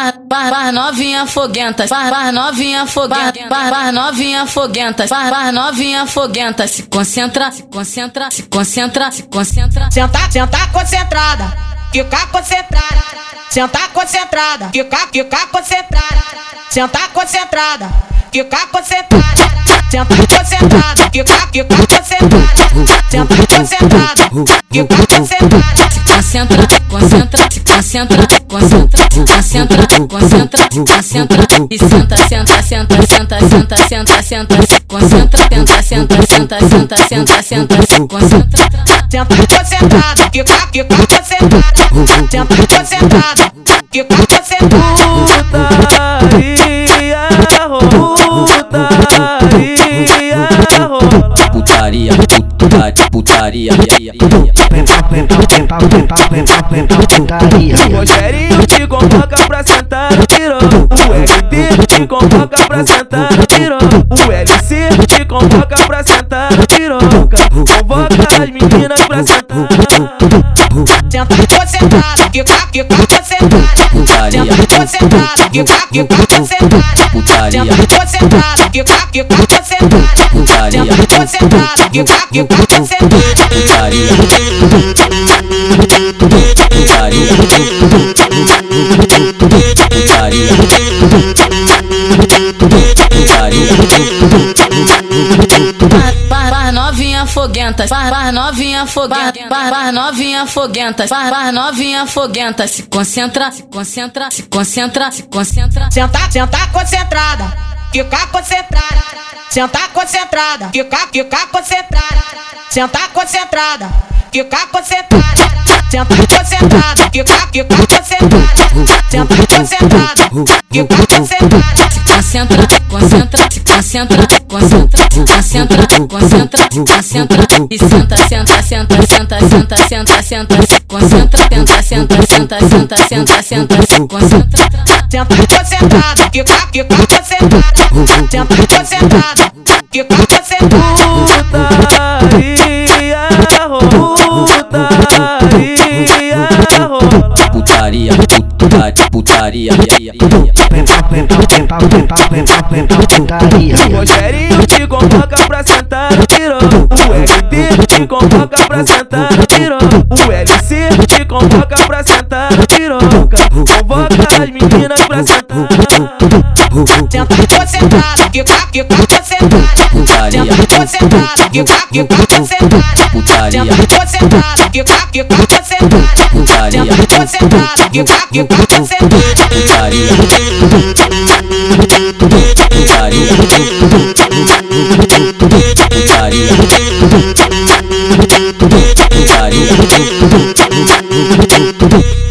Faz novinha foguenta, faz novinha foguenta, faz novinha foguenta, faz novinha foguenta. Se concentra, se concentra, se concentra, se concentra. Senta concentrada, fica concentrada. Senta concentrada, fica concentrada. Senta concentrada, fica concentrada. Senta concentrada, fica concentrada. Senta concentrada, fica concentrada. Concentra, concentra, se concentra, concentra, concentra, concentra, concentra e senta, senta, senta, senta, senta, senta, senta, se concentra, senta, senta, senta, senta, senta, senta, se concentra. Senta concentrada, fica concentrada. Senta concentrada, fica concentrada. Putaria, putaria, O Rogerinho te convoca pra sentar no pirão. O LB te convoca pra sentar no pirão. O LC te convoca pra sentar no piroca. Convoca as meninas pra sentar. Senta concentrada, fica concentrada. putaria, Senta concentrada, fica concentrada. putaria, Senta concentrada, fica concentrada. putaria, Senta concentrada, fica concentrada. putaria, putaria, putaria, Faz novinha foguenta, faz novinha foguenta, faz novinha foguenta, faz novinha foguenta. Se concentra, se concentra, se concentra, se concentra. Senta concentrada, fica concentrada. Senta concentrada, fica concentrada. Senta concentrada, fica concentrada. Senta concentrada, fica concentrada. Senta concentrada, fica concentrada. Concentra, concentra, se concentra, concentra, concentra, concentra, concentra e senta, senta, senta, senta, senta, senta, senta, se concentra, senta, senta, senta, senta, senta, senta, se concentra. Senta concentrada, fica concentrada. Senta concentrada, fica concentrada. putaria, putaria, O Rogerinho te convoca pra sentar no pirão. O LB te convoca pra sentar no pirão. O LC te convoca pra sentar no piroca. Convoca as meninas pra sentar. Senta concentrada, fica concentrada. putaria, Senta concentrada, fica concentrada. putaria, Senta concentrada, fica concentrada. putaria, Senta concentrada, fica concentrada. putaria, putaria, putaria, putaria.